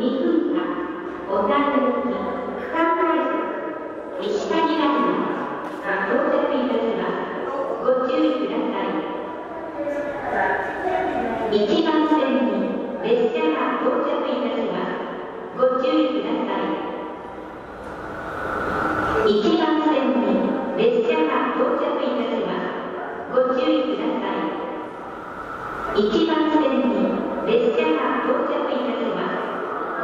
2分間、小田行き、区間快速、石狩ライナーが到着いたします。ご注意ください。1番線に列車が到着いたします。ご注意ください。1番線に列車が到着いたします。ご注意ください。1番線に列車が到着いたします。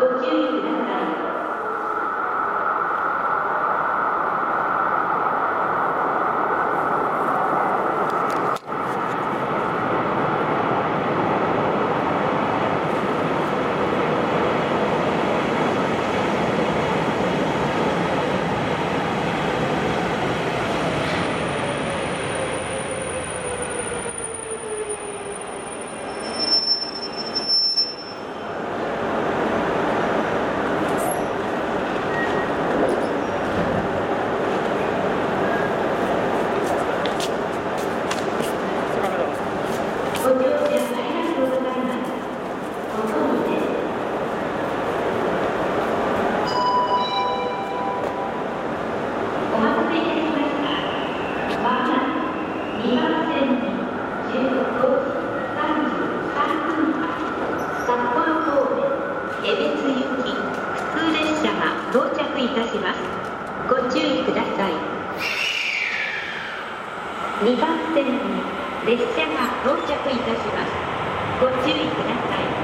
ご注意ください。2番線に列車が到着いたします。ご注意ください。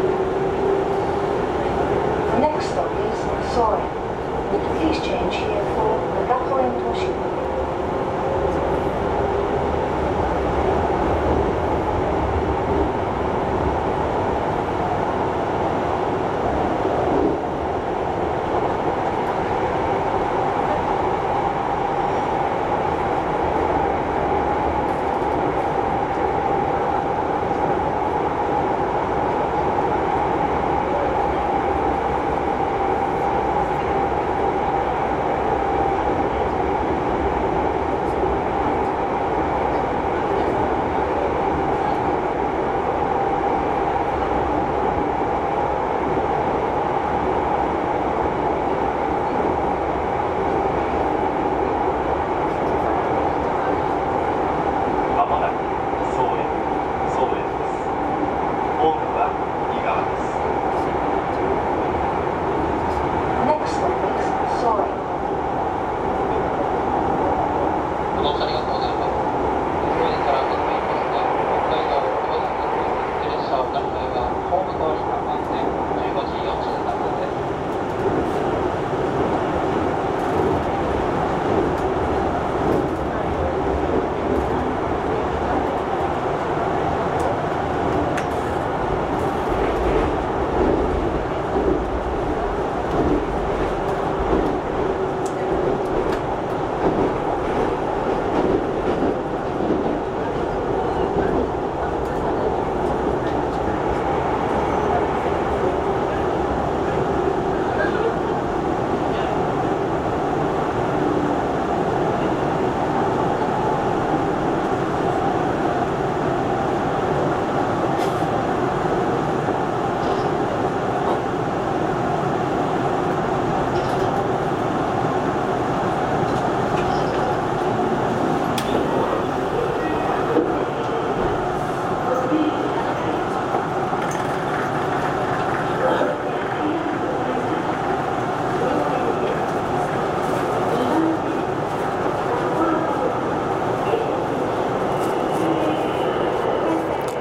Next stop is Soaring. Please change here.